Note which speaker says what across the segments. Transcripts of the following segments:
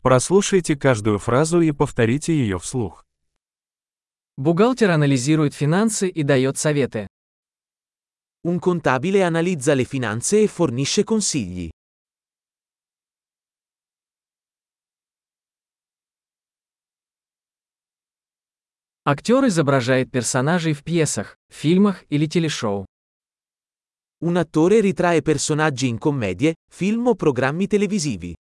Speaker 1: Прослушайте каждую фразу и повторите ее вслух.
Speaker 2: Бухгалтер анализирует финансы и дает советы.
Speaker 3: Un contabile analizza le finanze e fornisce consigli.
Speaker 2: Актер изображает персонажей в пьесах, фильмах или телешоу.
Speaker 3: Un attore ritrae personaggi in commedie, film o programmi televisivi.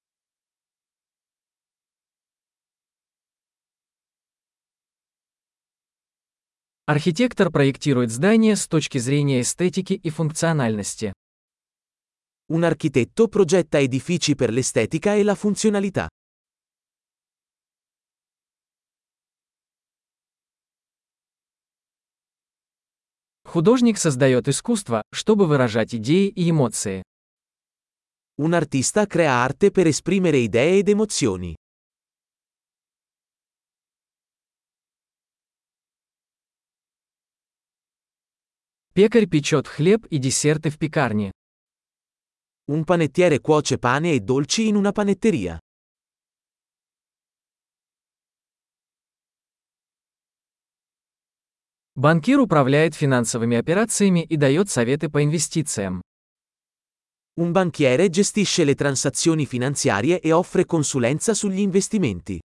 Speaker 2: Архитектор проектирует здания с точки зрения эстетики и функциональности.
Speaker 3: Un architetto progetta edifici per l'estetica e la funzionalità.
Speaker 2: Художник создает искусство, чтобы выражать идеи и эмоции.
Speaker 3: Un artista crea arte per esprimere idee ed emozioni.
Speaker 2: Пекарь печет хлеб и десерты в пекарне.
Speaker 3: Un panettiere cuoce pane e dolci in una panetteria.
Speaker 2: Банкир управляет финансовыми операциями и дает советы по инвестициям.
Speaker 3: Un banchiere gestisce le transazioni finanziarie e offre consulenza sugli investimenti.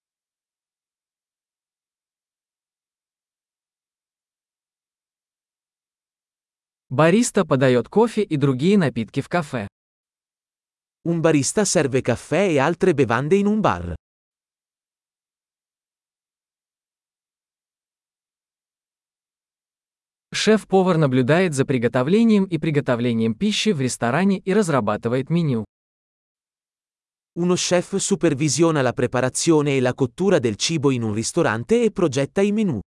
Speaker 2: Бариста подает кофе и другие напитки в кафе.
Speaker 3: Un barista serve caffè e altre bevande in un bar.
Speaker 2: Шеф-повар наблюдает за приготовлением и приготовлением пищи в ресторане и разрабатывает меню.
Speaker 3: Uno chef supervisiona la preparazione e la cottura del cibo in un ristorante e progetta i menù.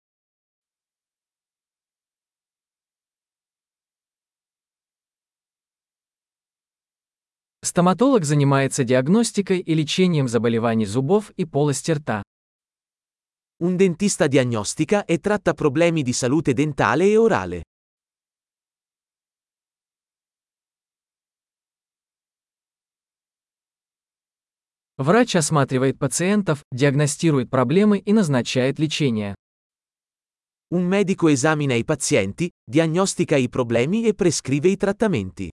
Speaker 2: Стоматолог занимается диагностикой и лечением заболеваний зубов и полости рта.
Speaker 3: Un dentista diagnostica e tratta problemi di salute dentale e orale.
Speaker 2: Врач осматривает пациентов, диагностирует проблемы и назначает лечение.
Speaker 3: Un medico esamina i pazienti, diagnostica i problemi e prescrive i trattamenti.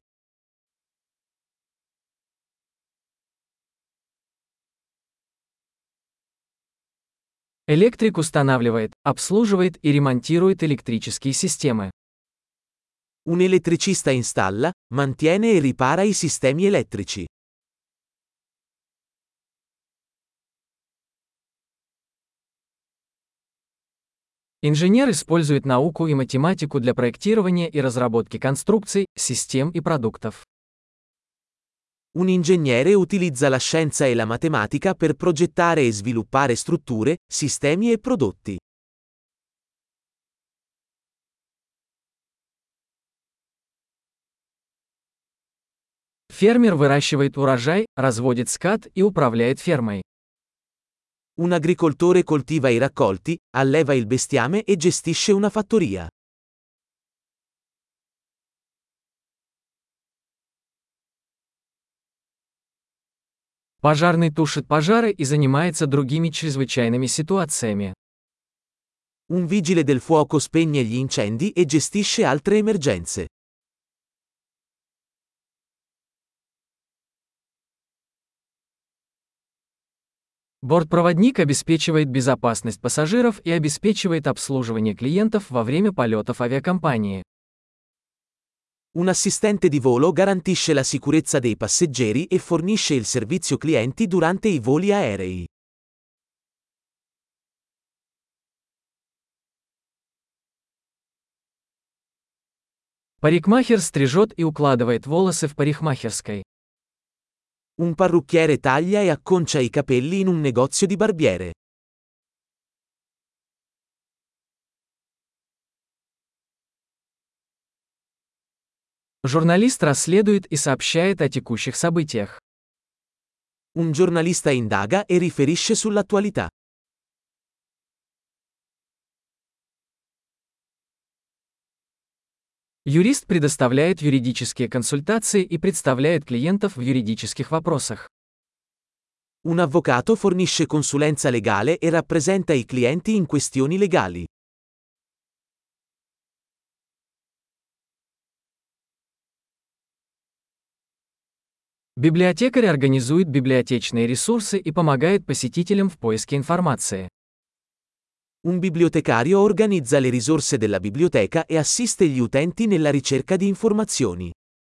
Speaker 2: Электрик устанавливает, обслуживает и ремонтирует электрические системы.
Speaker 3: Un elettricista installa, mantiene e ripara i sistemi elettrici.
Speaker 2: Инженер использует науку и математику для проектирования и разработки конструкций, систем и продуктов.
Speaker 3: Un ingegnere utilizza la scienza e la matematica per progettare e sviluppare strutture, sistemi e prodotti.
Speaker 2: Фермер выращивает урожай, разводит скот и управляет фермой.
Speaker 3: Un agricoltore coltiva i raccolti, alleva il bestiame e gestisce una fattoria.
Speaker 2: Пожарный тушит пожары и занимается другими чрезвычайными ситуациями.
Speaker 3: Un vigile del fuoco spegne gli incendi e gestisce altre emergenze.
Speaker 2: Бортпроводник обеспечивает безопасность пассажиров и обеспечивает обслуживание клиентов во время полетов авиакомпании.
Speaker 3: Un assistente di volo garantisce la sicurezza dei passeggeri e fornisce il servizio clienti durante i voli aerei.
Speaker 2: Парикмахер стрижет и укладывает волосы в парикмахерской.
Speaker 3: Un parrucchiere taglia e acconcia i capelli in un negozio di barbiere.
Speaker 2: Журналист расследует и сообщает о текущих событиях.
Speaker 3: Un giornalista indaga e riferisce sull'attualità.
Speaker 2: Юрист предоставляет юридические консультации и представляет клиентов в юридических вопросах.
Speaker 3: Un avvocato fornisce consulenza legale e rappresenta i clienti in questioni legali.
Speaker 2: Библиотекарь организует библиотечные ресурсы и помогает посетителям в поиске информации.
Speaker 3: Un bibliotecario organizza le risorse della biblioteca e assiste gli utenti nella ricerca di informazioni.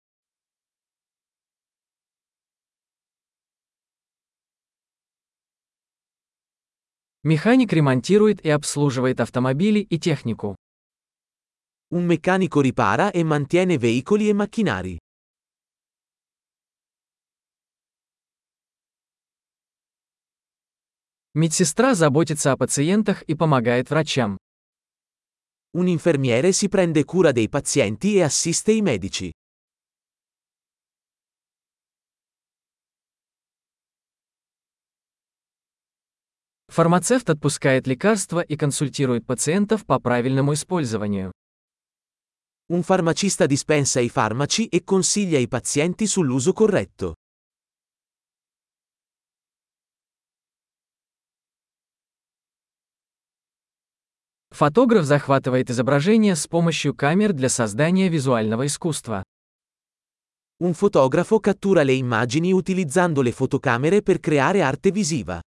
Speaker 2: Механик ремонтирует и обслуживает автомобили и технику.
Speaker 3: Un meccanico ripara e mantiene veicoli e macchinari.
Speaker 2: Медсестра заботится о пациентах и помогает врачам.
Speaker 3: Un infermiere si prende cura dei pazienti e assiste i medici.
Speaker 2: Фармацевт отпускает лекарства и консультирует пациентов по правильному использованию.
Speaker 3: Un farmacista dispensa i farmaci e consiglia i pazienti sull'uso corretto.
Speaker 2: Фотограф захватывает изображение с помощью камер для создания визуального искусства.
Speaker 3: Un fotografo cattura le immagini utilizzando le fotocamere per creare arte visiva.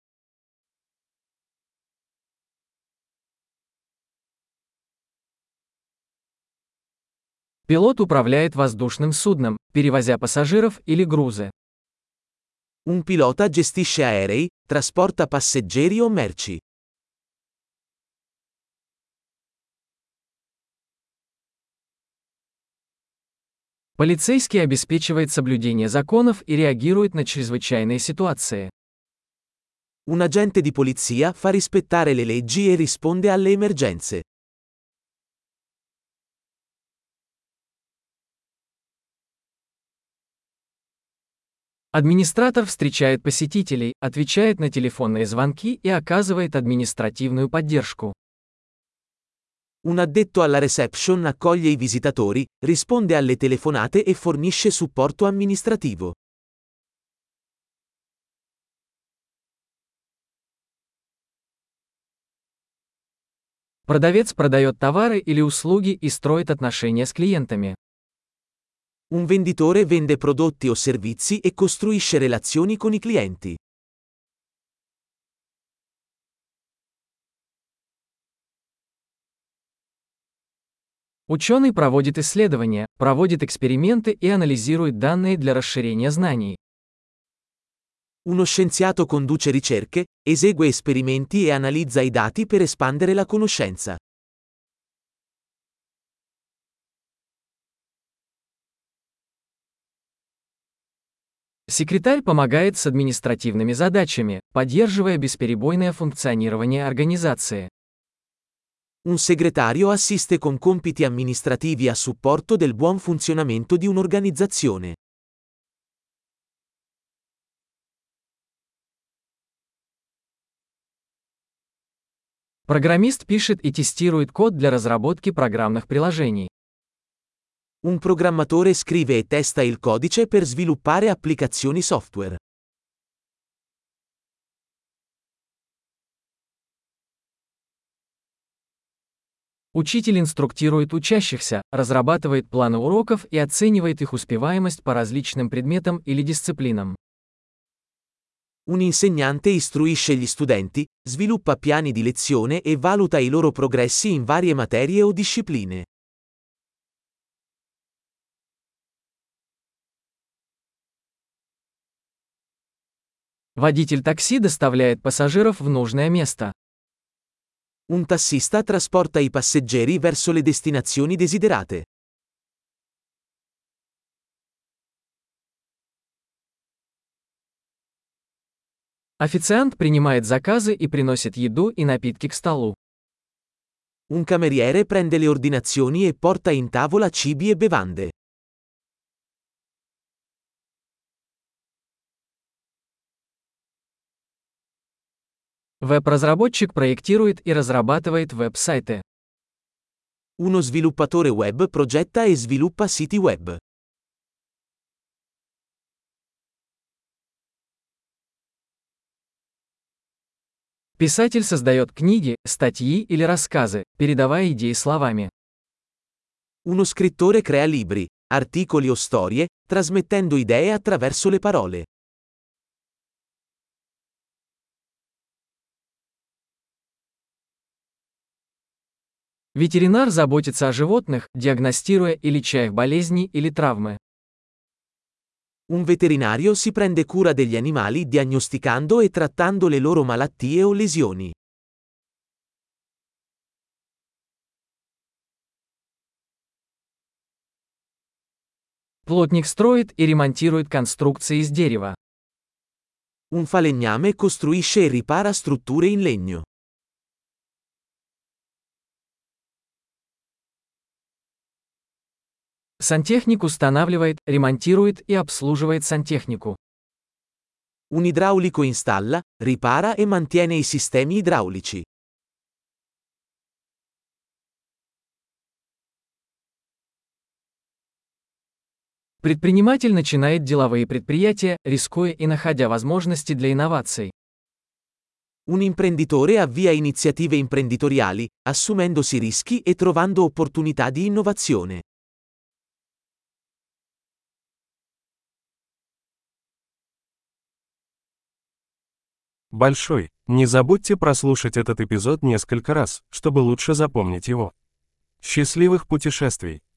Speaker 2: Пилот управляет воздушным судном, перевозя пассажиров или грузы.
Speaker 3: Un pilota gestisce aerei, trasporta passeggeri o merci.
Speaker 2: Полицейский обеспечивает соблюдение законов и реагирует на чрезвычайные ситуации.
Speaker 3: Un agente di polizia fa rispettare le leggi e risponde alle emergenze.
Speaker 2: Администратор встречает посетителей, отвечает на телефонные звонки и оказывает административную поддержку.
Speaker 3: Un addetto alla reception accoglie i visitatori, risponde alle telefonate e fornisce supporto amministrativo.
Speaker 2: Продавец продает товары или услуги и строит отношения с клиентами.
Speaker 3: Un venditore vende prodotti o servizi e costruisce relazioni con i clienti.
Speaker 2: Ученый проводит исследования, проводит эксперименты и анализирует данные для расширения знаний.
Speaker 3: Uno scienziato conduce ricerche, esegue esperimenti e analizza i dati per espandere la conoscenza.
Speaker 2: Секретарь помогает с административными задачами, поддерживая бесперебойное функционирование организации.
Speaker 3: Un segretario assiste con compiti amministrativi a supporto del buon funzionamento di un'organizzazione.
Speaker 2: Программист пишет и тестирует код для разработки программных приложений.
Speaker 3: Un programmatore scrive e testa il codice per sviluppare applicazioni software.
Speaker 2: Учитель инструктирует учащихся, разрабатывает планы уроков и оценивает их успеваемость по различным предметам или дисциплинам.
Speaker 3: Un insegnante istruisce gli studenti, sviluppa piani di lezione e valuta i loro progressi in varie materie o discipline.
Speaker 2: Водитель такси доставляет пассажиров в нужное место.
Speaker 3: Un tassista trasporta i passeggeri verso le destinazioni desiderate.
Speaker 2: Официант принимает заказы и приносит еду и напитки к столу.
Speaker 3: Un cameriere prende le ordinazioni e porta in tavola cibi e bevande.
Speaker 2: Веб-разработчик проектирует и разрабатывает веб-сайты.
Speaker 3: Uno sviluppatore web progetta e sviluppa siti web.
Speaker 2: Писатель создает книги, статьи или рассказы, передавая идеи словами.
Speaker 3: Uno scrittore crea libri, articoli o storie, trasmettendo idee attraverso le parole.
Speaker 2: Ветеринар заботится о животных, диагностируя и леча их болезни или травмы.
Speaker 3: Un veterinario si prende cura degli animali diagnosticando e trattando le loro malattie o lesioni.
Speaker 2: Плотник строит и ремонтирует конструкции из дерева.
Speaker 3: Un falegname costruisce e ripara strutture in legno.
Speaker 2: Сантехник устанавливает, ремонтирует и обслуживает сантехнику.
Speaker 3: Un idraulico installa, ripara e mantiene i sistemi idraulici.
Speaker 2: Предприниматель начинает деловые предприятия, рискуя и находя возможности для инноваций.
Speaker 3: Un imprenditore avvia iniziative imprenditoriali, assumendosi rischi e trovando opportunità di innovazione.
Speaker 1: Большой. Не забудьте прослушать этот эпизод несколько раз, чтобы лучше запомнить его. Счастливых путешествий!